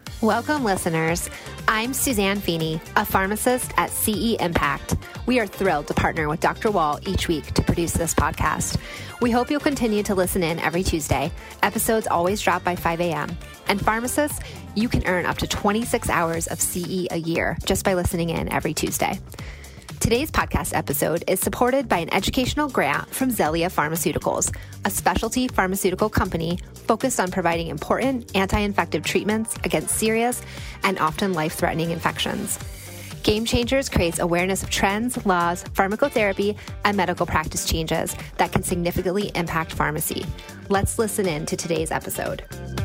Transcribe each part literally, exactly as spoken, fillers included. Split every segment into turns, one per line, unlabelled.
Welcome, listeners. I'm Suzanne Feeney, a pharmacist at C E Impact. We are thrilled to partner with Doctor Wall each week to produce this podcast. We hope you'll continue to listen in every Tuesday. Episodes always drop by five a.m. And pharmacists, you can earn up to twenty-six hours of C E a year just by listening in every Tuesday. Today's podcast episode is supported by an educational grant from Xellia Pharmaceuticals, a specialty pharmaceutical company focused on providing important anti-infective treatments against serious and often life-threatening infections. Game Changers creates awareness of trends, laws, pharmacotherapy, and medical practice changes that can significantly impact pharmacy. Let's listen in to today's episode.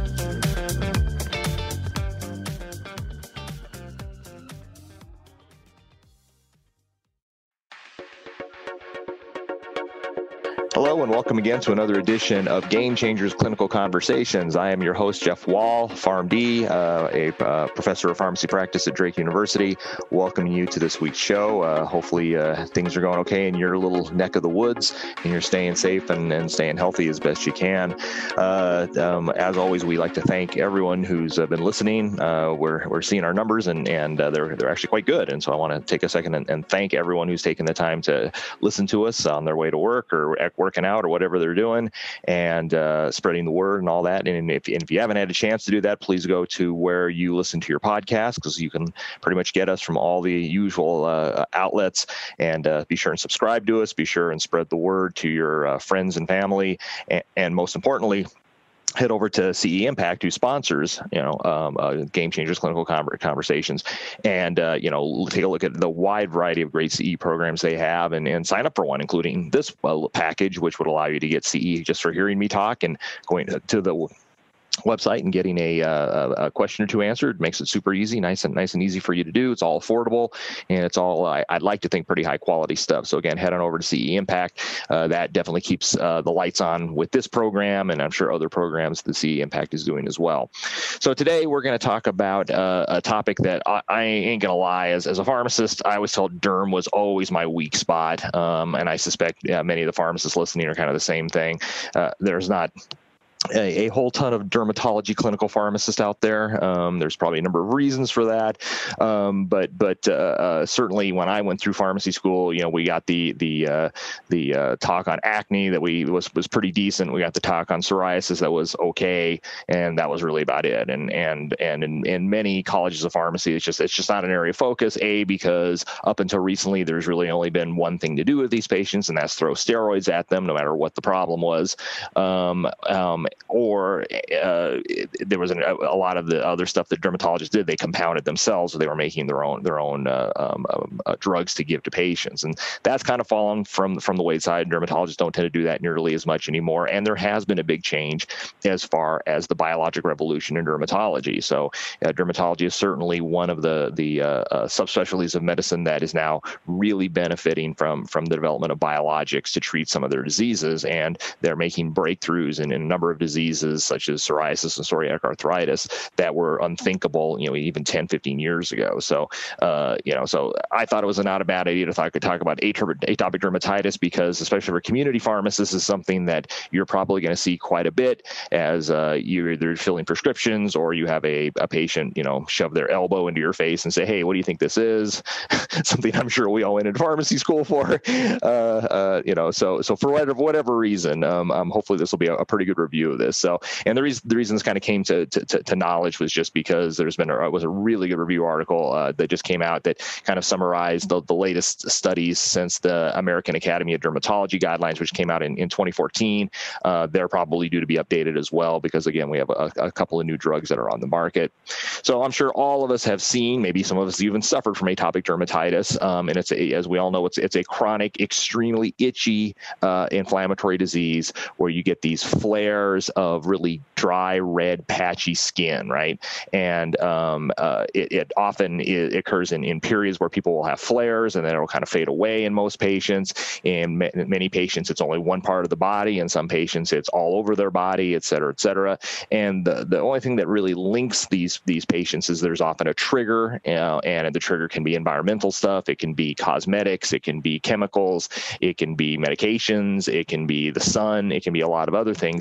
Hello and welcome again to another edition of Game Changers Clinical Conversations. I am your host, Jeff Wall, PharmD, uh, a uh, professor of pharmacy practice at Drake University, welcoming you to this week's show. Uh, hopefully uh, things are going okay in your little neck of the woods and you're staying safe and, and staying healthy as best you can. Uh, um, as always, we like to thank everyone who's uh, been listening. Uh, we're we're seeing our numbers and, and uh, they're they're actually quite good. And so I want to take a second and, and thank everyone who's taken the time to listen to us on their way to work or at working out or whatever they're doing and uh, spreading the word and all that. And if, and if you haven't had a chance to do that, please go to where you listen to your podcast, because you can pretty much get us from all the usual uh, outlets. And uh, be sure and subscribe to us. Be sure and spread the word to your uh, friends and family. And, and most importantly, head over to C E Impact, who sponsors, you know, um, uh, Game Changers Clinical Conversations, and, uh, you know, take a look at the wide variety of great C E programs they have and, and sign up for one, including this uh, package, which would allow you to get C E just for hearing me talk and going to the website and getting a, uh, a question or two answered. Makes it super easy, nice and nice and easy for you to do. It's all affordable, and it's all, I, I'd like to think, pretty high quality stuff. So again, head on over to C E Impact. Uh, that definitely keeps uh, the lights on with this program, and I'm sure other programs that C E Impact is doing as well. So today we're going to talk about uh, a topic that I, I ain't going to lie, as, as a pharmacist, I was told derm was always my weak spot. Um, and I suspect yeah, many of the pharmacists listening are kind of the same thing. Uh, there's not A, a whole ton of dermatology clinical pharmacists out there. Um, there's probably a number of reasons for that, um, but but uh, uh, certainly when I went through pharmacy school, you know, we got the the uh, the uh, talk on acne that we was was pretty decent. We got the talk on psoriasis that was okay, and that was really about it. And and and in, in many colleges of pharmacy, it's just it's just not an area of focus. A, because up until recently, there's really only been one thing to do with these patients, and that's throw steroids at them, no matter what the problem was. Um, um, Or uh, there was an, a lot of the other stuff that dermatologists did. They compounded themselves, so they were making their own their own uh, um, uh, drugs to give to patients, and that's kind of fallen from from the wayside. Dermatologists don't tend to do that nearly as much anymore, and there has been a big change as far as the biologic revolution in dermatology. So, uh, dermatology is certainly one of the the uh, uh, subspecialties of medicine that is now really benefiting from from the development of biologics to treat some of their diseases, and they're making breakthroughs in, in a number of diseases such as psoriasis and psoriatic arthritis that were unthinkable, you know, even ten, fifteen years ago. So, uh, you know, so I thought it was not a bad idea to thought I could talk about atopic dermatitis, because especially for community pharmacists, this is something that you're probably going to see quite a bit as uh, you're either filling prescriptions or you have a, a patient, you know, shove their elbow into your face and say, hey, what do you think this is? Something I'm sure we all went into pharmacy school for, uh, uh, you know, so so for whatever, whatever reason, um, um, hopefully this will be a, a pretty good review of this. So, and the reason the reason this kind of came to, to to knowledge was just because there's been a was a really good review article uh, that just came out that kind of summarized the, the latest studies since the American Academy of Dermatology guidelines, which came out in, in twenty fourteen. Uh, they're probably due to be updated as well, because again, we have a, a couple of new drugs that are on the market. So I'm sure all of us have seen, maybe some of us even suffered from atopic dermatitis, um, and it's a, as we all know, it's it's a chronic, extremely itchy, uh, inflammatory disease where you get these flares of really dry, red, patchy skin, right? And um, uh, it, it often it occurs in, in periods where people will have flares, and then it'll kind of fade away in most patients. In ma- many patients, it's only one part of the body. In some patients, it's all over their body, et cetera, et cetera. And the, the only thing that really links these these patients is there's often a trigger, uh, and the trigger can be environmental stuff. It can be cosmetics. It can be chemicals. It can be medications. It can be the sun. It can be a lot of other things that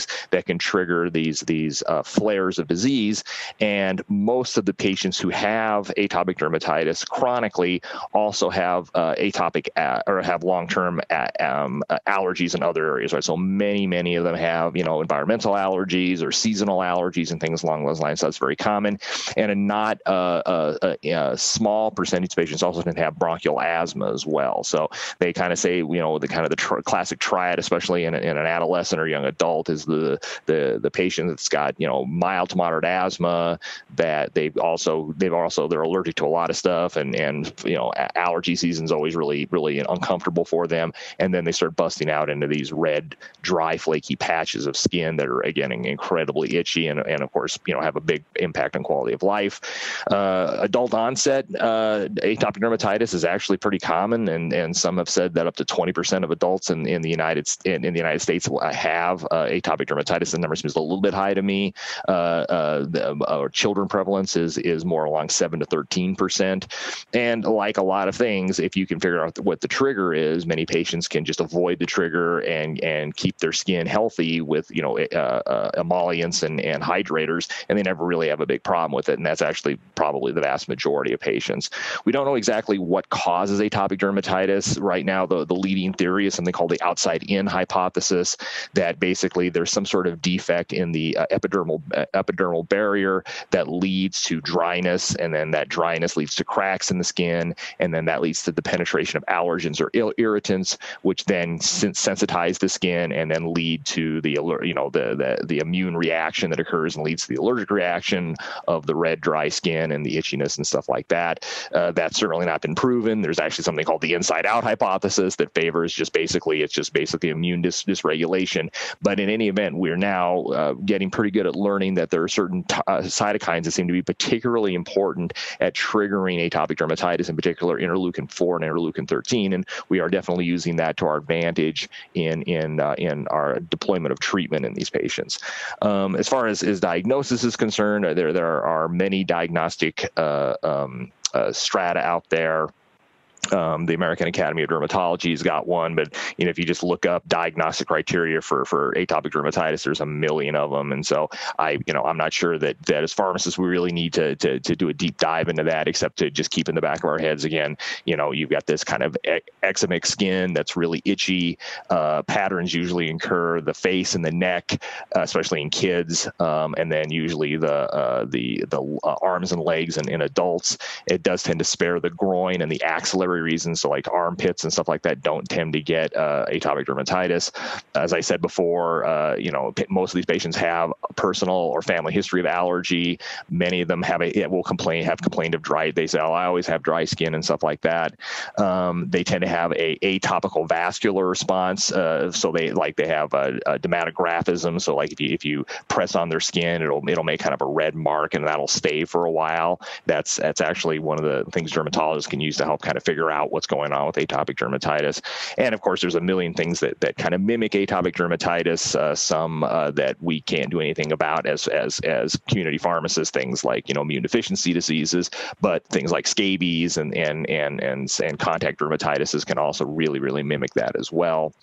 can trigger these these uh, flares of disease. And most of the patients who have atopic dermatitis chronically also have uh, atopic uh, or have long-term a- um, uh, allergies in other areas, right? So many, many of them have, you know, environmental allergies or seasonal allergies and things along those lines. So that's very common. And a not uh, a, a, a small percentage of patients also tend to have bronchial asthma as well. So they kind of say, you know, the kind of the tr- classic triad, especially in, a, in an adolescent or young adult, is the the the patient that's got, you know, mild to moderate asthma, that they've also they've also they're allergic to a lot of stuff, and and you know, allergy season's always really really uncomfortable for them, and then they start busting out into these red, dry, flaky patches of skin that are again incredibly itchy, and and of course, you know, have a big impact on quality of life. Uh, adult onset uh, atopic dermatitis is actually pretty common, and and some have said that up to twenty percent of adults in, in the United in, in the United States have uh, atopic dermatitis. The number seems a little bit high to me. Uh, uh, the, uh, children prevalence is is more along seven to thirteen percent. And like a lot of things, if you can figure out what the trigger is, many patients can just avoid the trigger and and keep their skin healthy with, you know, uh, uh, emollients and, and hydrators, and they never really have a big problem with it. And that's actually probably the vast majority of patients. We don't know exactly what causes atopic dermatitis. Right now, the, the leading theory is something called the outside-in hypothesis, that basically there's some sort of defect in the uh, epidermal uh, epidermal barrier that leads to dryness, and then that dryness leads to cracks in the skin, and then that leads to the penetration of allergens or ill irritants, which then sensitize the skin and then lead to the you know the, the the immune reaction that occurs and leads to the allergic reaction of the red, dry skin and the itchiness and stuff like that. Uh, that's certainly not been proven. There's actually something called the inside-out hypothesis that favors just basically it's just basically immune dis- dysregulation. But in any event, we're now uh, getting pretty good at learning that there are certain t- uh, cytokines that seem to be particularly important at triggering atopic dermatitis, in particular interleukin four and interleukin thirteen, and we are definitely using that to our advantage in in uh, in our deployment of treatment in these patients. Um, as far as, as diagnosis is concerned, there there are many diagnostic uh, um, uh, strata out there. Um, the American Academy of Dermatology has got one, but you know, if you just look up diagnostic criteria for, for atopic dermatitis, there's a million of them. And so I, you know, I'm not sure that, that as pharmacists, we really need to, to, to do a deep dive into that, except to just keep in the back of our heads, again, you know, you've got this kind of eczemic skin that's really itchy. Uh, patterns usually incur the face and the neck, uh, especially in kids. Um, and then usually the, uh, the, the uh, arms and legs in, in adults. It does tend to spare the groin and the axillary reasons, so like armpits and stuff like that don't tend to get uh, atopic dermatitis. As I said before, uh, you know, most of these patients have a personal or family history of allergy. Many of them have a will complain have complained of dry. They say, "Oh, I always have dry skin" and stuff like that. Um, they tend to have a atopical vascular response, uh, so they like they have a, a dermatographism. So like if you if you press on their skin, it'll it'll make kind of a red mark, and that'll stay for a while. That's that's actually one of the things dermatologists can use to help kind of figure out what's going on with atopic dermatitis. And of course, there's a million things that, that kind of mimic atopic dermatitis, uh, some uh, that we can't do anything about as, as, as community pharmacists, things like, you know, immune deficiency diseases, but things like scabies and, and, and, and, and contact dermatitis can also really, really mimic that as well.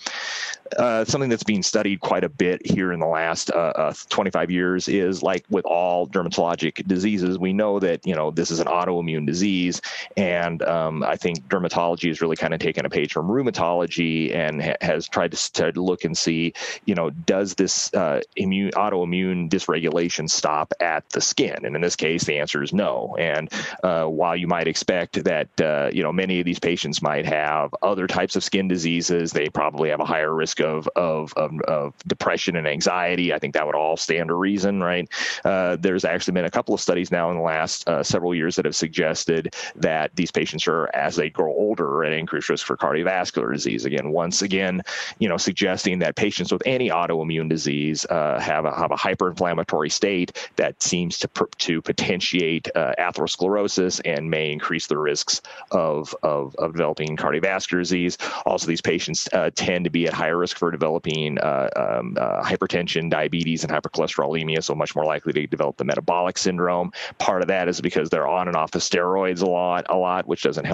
Uh, something that's being studied quite a bit here in the last uh, uh, twenty-five years is, like with all dermatologic diseases, we know that, you know, this is an autoimmune disease. And um, I think dermatology has really kind of taken a page from rheumatology and ha- has tried to, to look and see, you know, does this uh, immune autoimmune dysregulation stop at the skin? And in this case, the answer is no. And uh, while you might expect that, uh, you know, many of these patients might have other types of skin diseases, they probably have a higher risk of, of, of, of depression and anxiety. I think that would all stand to reason, right? Uh, there's actually been a couple of studies now in the last uh, several years that have suggested that these patients are, as they grow older, at increased risk for cardiovascular disease. Again, once again, you know, suggesting that patients with any autoimmune disease uh, have a have a hyperinflammatory state that seems to to potentiate uh, atherosclerosis and may increase the risks of, of of developing cardiovascular disease. Also, these patients uh, tend to be at higher risk for developing uh, um, uh, hypertension, diabetes, and hypercholesterolemia, so much more likely to develop the metabolic syndrome. Part of that is because they're on and off the steroids a lot, a lot, which doesn't help things.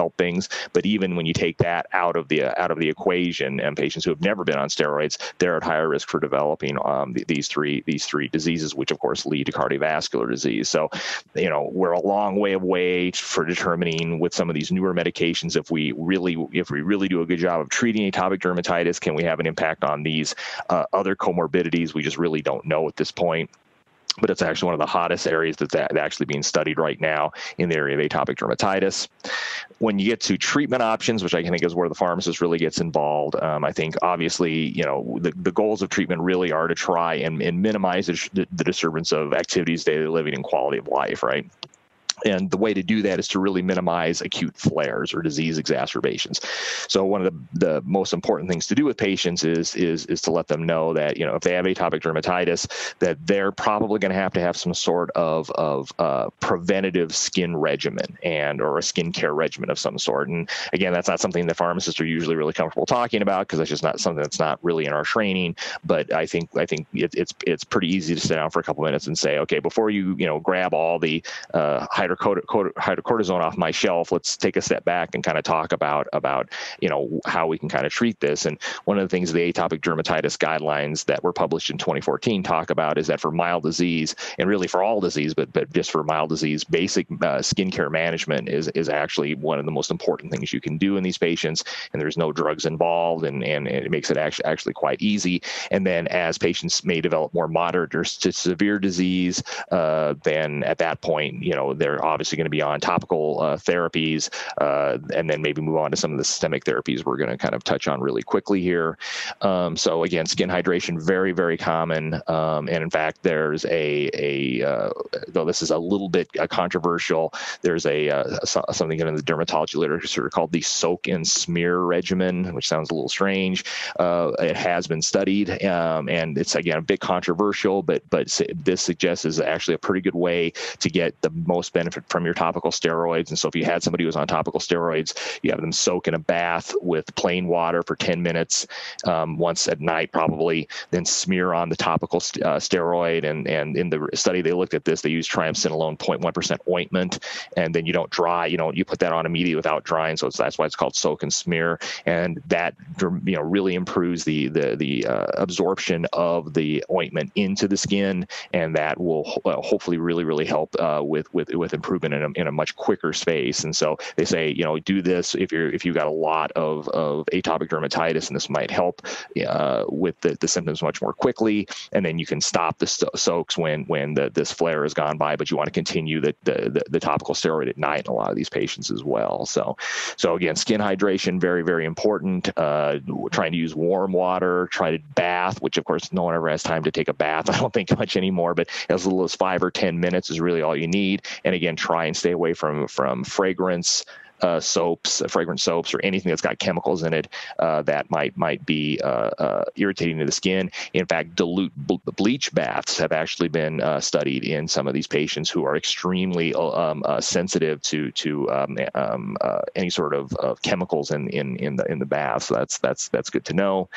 things. But even when you take that out of the out of the equation, and patients who have never been on steroids, they're at higher risk for developing um, th- these three these three diseases, which of course lead to cardiovascular disease. So, you know, we're a long way away for determining with some of these newer medications if we really if we really do a good job of treating atopic dermatitis, can we have an impact on these uh, other comorbidities? We just really don't know at this point. But it's actually one of the hottest areas that's actually being studied right now in the area of atopic dermatitis. When you get to treatment options, which I think is where the pharmacist really gets involved, um, I think obviously, you know, the, the goals of treatment really are to try and, and minimize the, the disturbance of activities, daily living, and quality of life, right? And the way to do that is to really minimize acute flares or disease exacerbations. So one of the, the most important things to do with patients is, is, is to let them know that, you know, if they have atopic dermatitis, that they're probably going to have to have some sort of, of uh, preventative skin regimen and or a skincare regimen of some sort. And again, that's not something that pharmacists are usually really comfortable talking about because that's just not something that's not really in our training. But I think I think it, it's it's pretty easy to sit down for a couple minutes and say, okay, before you you know grab all the uh, hydrocortisone off my shelf, let's take a step back and kind of talk about about you know how we can kind of treat this. And one of the things the atopic dermatitis guidelines that were published in twenty fourteen talk about is that for mild disease, and really for all disease, but but just for mild disease, basic uh, skincare management is is actually one of the most important things you can do in these patients. And there's no drugs involved, and and it makes it actually actually quite easy. And then as patients may develop more moderate or to severe disease, uh, then at that point, you know, they're obviously going to be on topical uh, therapies, uh, and then maybe move on to some of the systemic therapies we're going to kind of touch on really quickly here. Um, so again, skin hydration, very, very common. Um, and in fact, there's a, a uh, though this is a little bit uh, controversial, there's a uh, something in the dermatology literature called the soak and smear regimen, which sounds a little strange. Uh, it has been studied, um, and it's, again, a bit controversial, but but this suggests is actually a pretty good way to get the most benefit from your topical steroids. And so if you had somebody who was on topical steroids, you have them soak in a bath with plain water for ten minutes, um, once at night probably, then smear on the topical st- uh, steroid. And, and in the study they looked at this, they used triamcinolone zero point one percent ointment, and then you don't dry, you know, you put that on immediately without drying. So it's, that's why it's called soak and smear. And that, you know, really improves the, the, the uh, absorption of the ointment into the skin. And that will uh, hopefully really, really help uh, with, with, with improvement in a, in a much quicker space. And so they say, you know, do this if you're, if you've got a lot of, of atopic dermatitis, and this might help uh, with the, the symptoms much more quickly. And then you can stop the so- soaks when, when the, this flare has gone by, but you want to continue the, the, the, the topical steroid at night in a lot of these patients as well. So, so again, skin hydration, very, very important. Uh, trying to use warm water, try to bath, which of course no one ever has time to take a bath, I don't think much anymore, but as little as five or ten minutes is really all you need. And again, try and stay away from, from fragrance, Uh, soaps, uh, fragrant soaps, or anything that's got chemicals in it uh, that might might be uh, uh, irritating to the skin. In fact, dilute ble- bleach baths have actually been uh, studied in some of these patients who are extremely um, uh, sensitive to to um, um, uh, any sort of, of chemicals in, in in the in the bath. So that's that's that's good to know.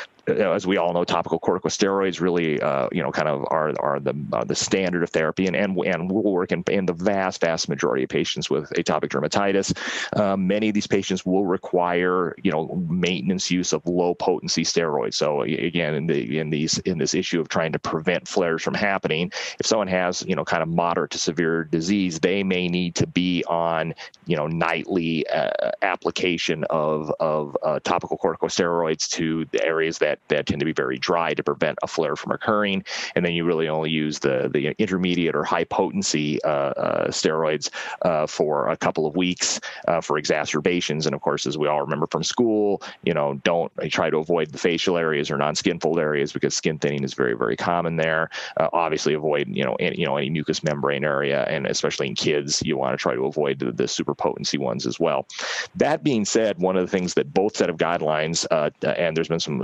As we all know, topical corticosteroids really, uh, you know, kind of are are the uh, the standard of therapy, and and and will work in, in the vast vast majority of patients with atopic dermatitis. Um, many of these patients will require, you know, maintenance use of low potency steroids. So again, in the in these in this issue of trying to prevent flares from happening, if someone has, you know, kind of moderate to severe disease, they may need to be on, you know, nightly uh, application of of uh, topical corticosteroids to the areas that that tend to be very dry to prevent a flare from occurring. And then you really only use the, the intermediate or high potency uh, uh, steroids uh, for a couple of weeks uh, for exacerbations. And of course, as we all remember from school, you know, don't try to avoid the facial areas or non-skin fold areas because skin thinning is very, very common there. Uh, obviously avoid, you know, any, you know, any mucous membrane area. And especially in kids, you want to try to avoid the, the super potency ones as well. That being said, one of the things that both set of guidelines, uh, and there's been some, some research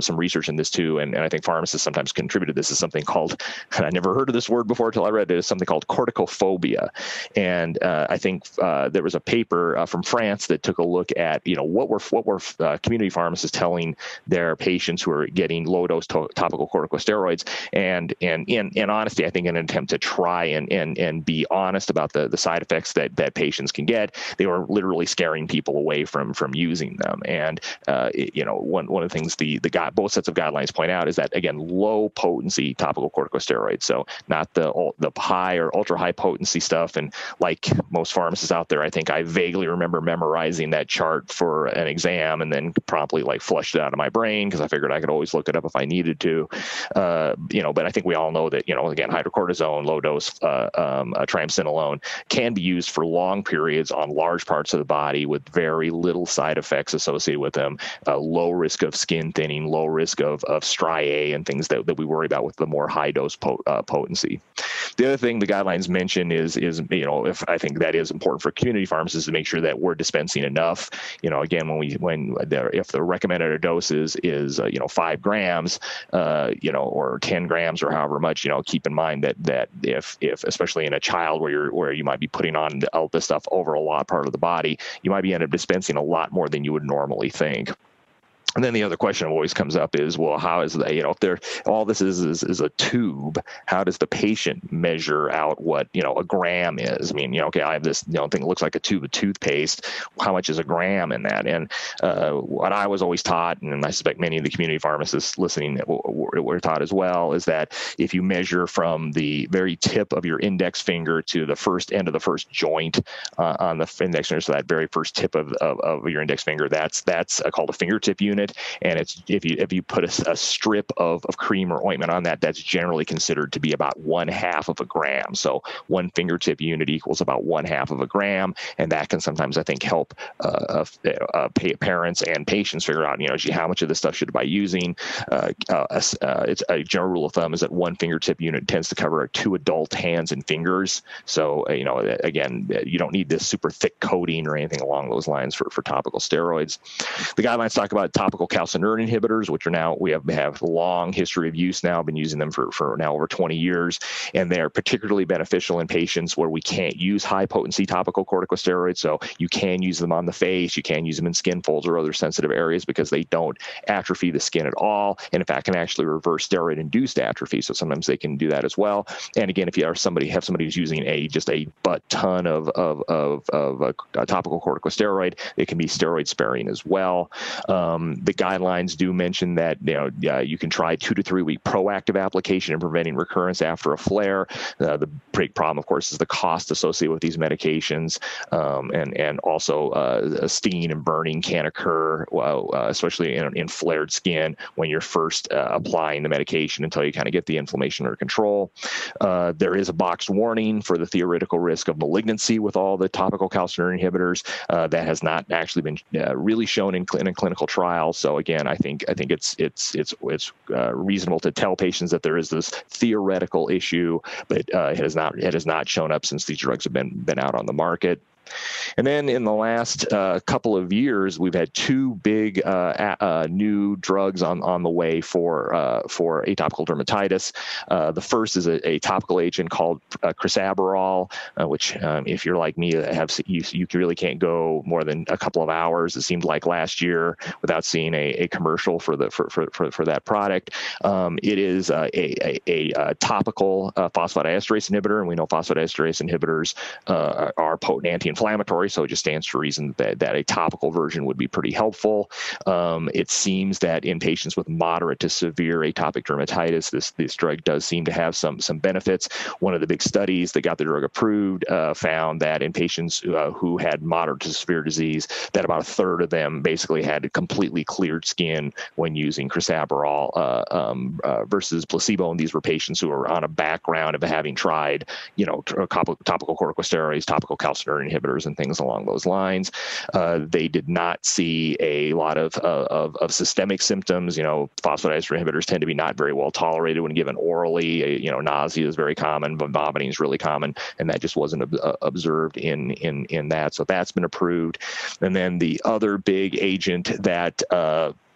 version of this too, and, and I think pharmacists sometimes contribute to this, is something called, and I never heard of this word before until I read it, is something called corticophobia. And uh, I think uh, there was a paper uh, from France that took a look at, you know, what were what were uh, community pharmacists telling their patients who are getting low dose to- topical corticosteroids, and and in, in honesty, I think in an attempt to try and and and be honest about the the side effects that that patients can get, they were literally scaring people away from from using them. And uh, it, you know, one one of the things the the guy, both sets of guidelines point out is that, again, low potency topical corticosteroids, so not the the high or ultra high potency stuff. And like most pharmacists out there, I think I vaguely remember memorizing that chart for an exam and then promptly like flushed it out of my brain because I figured I could always look it up if I needed to. Uh, you know, but I think we all know that, you know, again, hydrocortisone, low dose uh, um, uh, triamcinolone can be used for long periods on large parts of the body with very little side effects associated with them. Uh, low risk of skin thinning, low risk of of striae and things that, that we worry about with the more high dose po- uh, potency. The other thing the guidelines mention is, is you know, if I think that is important for community pharmacists to make sure that we're dispensing enough. You know, again, when we when the, if the recommended dose is is uh, you know five grams, uh, you know, or ten grams or however much, you know, keep in mind that that if if especially in a child where you're where you might be putting on all this stuff over a lot part of the body, you might be end up dispensing a lot more than you would normally think. And then the other question always comes up is, well, how is that, you know, if they're, all this is, is is a tube, how does the patient measure out what, you know, a gram is? I mean, you know, okay, I have this, you know, thing that looks like a tube of toothpaste. How much is a gram in that? And uh, what I was always taught, and I suspect many of the community pharmacists listening were, were taught as well, is that if you measure from the very tip of your index finger to the first end of the first joint uh, on the index finger, so that very first tip of, of, of your index finger, that's that's called a fingertip unit. And it's if you if you put a, a strip of, of cream or ointment on that, that's generally considered to be about one half of a gram. So one fingertip unit equals about one half of a gram, and that can sometimes, I think, help uh, uh, parents and patients figure out, you know, gee, how much of this stuff should I be using? Uh, uh, uh, it's a general rule of thumb is that one fingertip unit tends to cover two adult hands and fingers. So uh, you know, again, you don't need this super thick coating or anything along those lines for, for topical steroids. The guidelines talk about topical calcineurin inhibitors, which are now, we have, have a long history of use now, been using them for, for now over twenty years, and they're particularly beneficial in patients where we can't use high potency topical corticosteroids. So you can use them on the face, you can use them in skin folds or other sensitive areas because they don't atrophy the skin at all, and in fact can actually reverse steroid induced atrophy. So sometimes they can do that as well. And again, if you are somebody have somebody who's using a just a butt ton of of of, of a, a topical corticosteroid, it can be steroid sparing as well. Um, the guidelines do mention that, you know, uh, you can try two to three week proactive application in preventing recurrence after a flare. Uh, the big problem, of course, is the cost associated with these medications, um, and and also uh, stinging and burning can occur, well, uh, especially in, in flared skin when you're first uh, applying the medication until you kind of get the inflammation under control. Uh, there is a boxed warning for the theoretical risk of malignancy with all the topical calcineurin inhibitors. Uh, that has not actually been uh, really shown in, cl- in a clinical trial. So again, I think I think it's it's it's it's uh, reasonable to tell patients that there is this theoretical issue, but uh, it has not it has not shown up since these drugs have been been out on the market. And then in the last uh, couple of years, we've had two big uh, uh, new drugs on, on the way for uh, for atopical dermatitis. Uh, the first is a, a topical agent called uh, crisaborole, uh, which um, if you're like me, have you, you really can't go more than a couple of hours, it seemed like last year, without seeing a, a commercial for the for, for, for, for that product. Um, it is uh, a, a, a topical uh, phosphodiesterase inhibitor, and we know phosphodiesterase inhibitors uh, are potent anti inflammatory, so it just stands to reason that, that a topical version would be pretty helpful. Um, it seems that in patients with moderate to severe atopic dermatitis, this this drug does seem to have some some benefits. One of the big studies that got the drug approved uh, found that in patients uh, who had moderate to severe disease, that about a third of them basically had completely cleared skin when using crisaborole uh, um, uh, versus placebo. And these were patients who were on a background of having tried, you know, topical corticosteroids, topical calcineurin inhibitors, and things along those lines. Uh, they did not see a lot of, uh, of of systemic symptoms. You know, phosphodiesterase inhibitors tend to be not very well tolerated when given orally. You know, nausea is very common, but vomiting is really common, and that just wasn't uh, observed in in in that. So that's been approved. And then the other big agent that uh,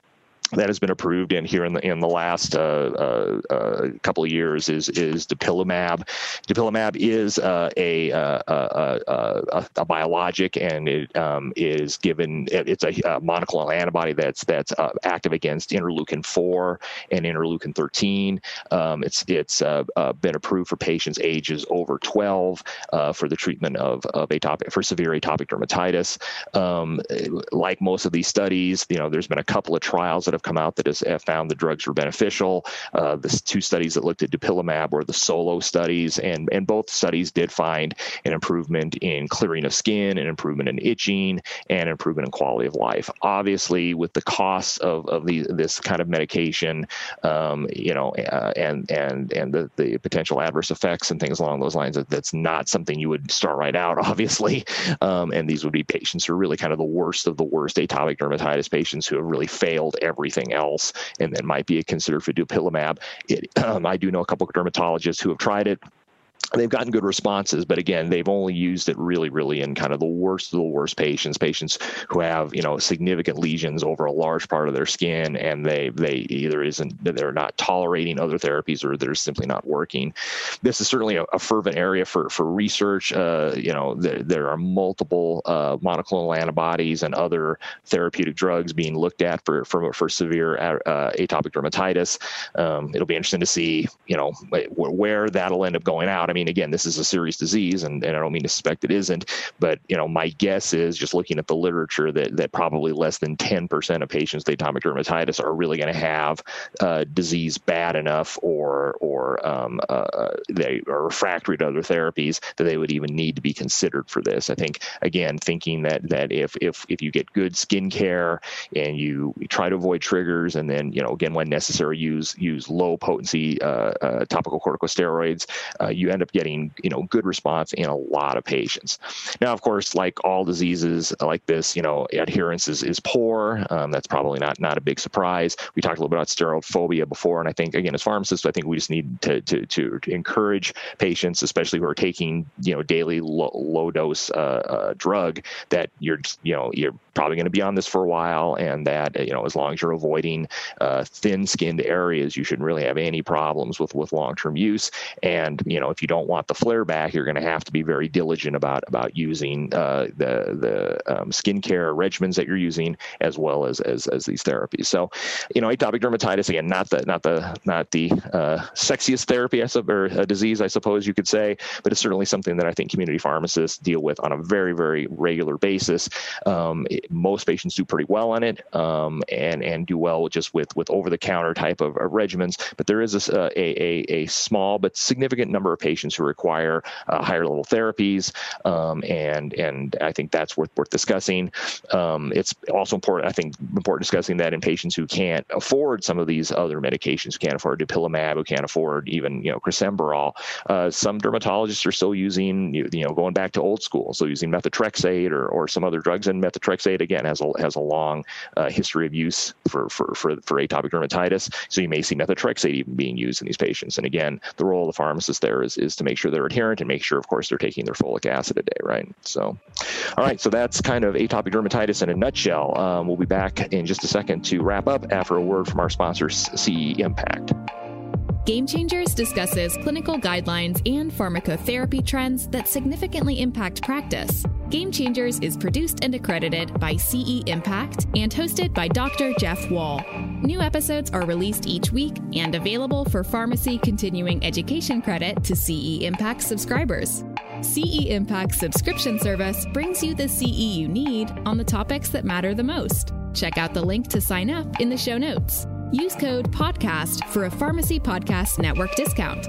that has been approved in here in the in the last uh, uh, uh, couple of years is is dupilumab. Dupilumab is uh, a, uh, a, a a biologic, and it um, is given. It's a, a monoclonal antibody that's that's uh, active against interleukin four and interleukin thirteen. Um, it's it's uh, uh, been approved for patients ages over twelve uh, for the treatment of of atopic for severe atopic dermatitis. Um, like most of these studies, you know, there's been a couple of trials that have come out that has found the drugs were beneficial. Uh, the two studies that looked at dupilumab were the SOLO studies, and, and both studies did find an improvement in clearing of skin, an improvement in itching, and improvement in quality of life. Obviously, with the costs of, of the, this kind of medication, um, you know, uh, and and and the, the potential adverse effects and things along those lines, that's not something you would start right out, obviously. Um, and these would be patients who are really kind of the worst of the worst atopic dermatitis patients who have really failed everything else, and then might be considered for dupilumab. It, um, I do know a couple of dermatologists who have tried it. They've gotten good responses, but again, they've only used it really, really in kind of the worst of the worst patients, patients who have, you know, significant lesions over a large part of their skin, and they they either isn't they're not tolerating other therapies, or they're simply not working. This is certainly a, a fervent area for for research. Uh, you know, there, there are multiple uh, monoclonal antibodies and other therapeutic drugs being looked at for for, for severe uh, atopic dermatitis. Um, it'll be interesting to see, you know, where that'll end up going out. I mean, again, this is a serious disease, and, and I don't mean to suspect it isn't, but, you know, my guess is, just looking at the literature, that, that probably less than ten percent of patients with atopic dermatitis are really going to have uh, disease bad enough, or or um, uh, they are refractory to other therapies, that they would even need to be considered for this. I think, again, thinking that that if if if you get good skin care and you try to avoid triggers, and then, you know, again, when necessary, use use low potency uh, uh, topical corticosteroids, uh, you end up getting, you know, good response in a lot of patients. Now, of course, like all diseases like this, you know, adherence is, is poor. Um, that's probably not not a big surprise. We talked a little bit about steroid phobia before, and I think, again, as pharmacists, I think we just need to to to, to encourage patients, especially who are taking, you know, daily low, low dose uh, uh, drug, that you're, you know, you're probably going to be on this for a while, and that, you know, as long as you're avoiding uh, thin-skinned areas, you shouldn't really have any problems with with long-term use. And, you know, if you don't want the flare back, you're going to have to be very diligent about about using uh, the the um, skincare regimens that you're using, as well as, as as these therapies. So, you know, atopic dermatitis, again, not the not the not the uh, sexiest therapy, I su- or a disease, I suppose you could say, but it's certainly something that I think community pharmacists deal with on a very very regular basis. Um, it, most patients do pretty well on it, um, and and do well just with with over the counter type of, of regimens. But there is a, a a a small but significant number of patients who require uh, higher level therapies, um, and and I think that's worth worth discussing. Um, it's also important, I think, important discussing that in patients who can't afford some of these other medications, who can't afford dupilumab, who can't afford even, you know, crisaborole. Uh, some dermatologists are still using, you, you know, going back to old school, so using methotrexate or or some other drugs, and methotrexate again has a has a long uh, history of use for for for for atopic dermatitis. So you may see methotrexate even being used in these patients. And again, the role of the pharmacist there is is to make sure they're adherent, and make sure, of course, they're taking their folic acid a day, right? So, all right, so that's kind of atopic dermatitis in a nutshell. Um, we'll be back in just a second to wrap up after a word from our sponsor, C E Impact.
Game Changers discusses clinical guidelines and pharmacotherapy trends that significantly impact practice. Game Changers is produced and accredited by C E Impact and hosted by Doctor Jeff Wall. New episodes are released each week and available for pharmacy continuing education credit to C E Impact subscribers. C E Impact's subscription service brings you the C E you need on the topics that matter the most. Check out the link to sign up in the show notes. Use code PODCAST for a Pharmacy Podcast Network discount.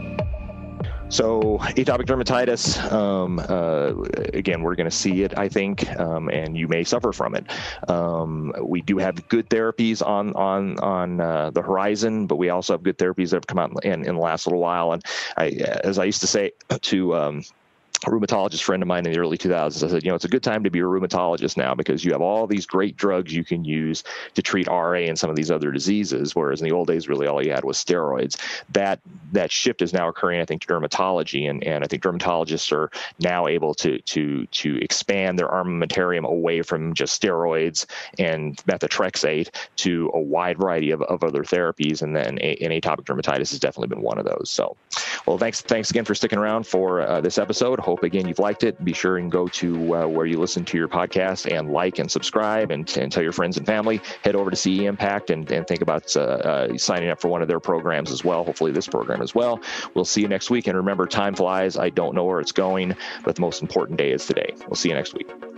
So atopic dermatitis, um, uh, again, we're going to see it, I think, um, and you may suffer from it. Um, we do have good therapies on on on uh, the horizon, but we also have good therapies that have come out in, in the last little while. And I, as I used to say to um, a rheumatologist friend of mine in the early two thousands. I said, you know, it's a good time to be a rheumatologist now because you have all these great drugs you can use to treat R A and some of these other diseases, whereas in the old days, really all you had was steroids. That that shift is now occurring, I think, to dermatology, and, and I think dermatologists are now able to to to expand their armamentarium away from just steroids and methotrexate to a wide variety of, of other therapies, and then a, and atopic dermatitis has definitely been one of those. So, well, thanks thanks again for sticking around for uh, this episode. Hope, again, you've liked it. Be sure and go to uh, where you listen to your podcast and like and subscribe and, and tell your friends and family. Head over to C E Impact and, and think about uh, uh, signing up for one of their programs as well, hopefully this program as well. We'll see you next week. And remember, time flies. I don't know where it's going, but the most important day is today. We'll see you next week.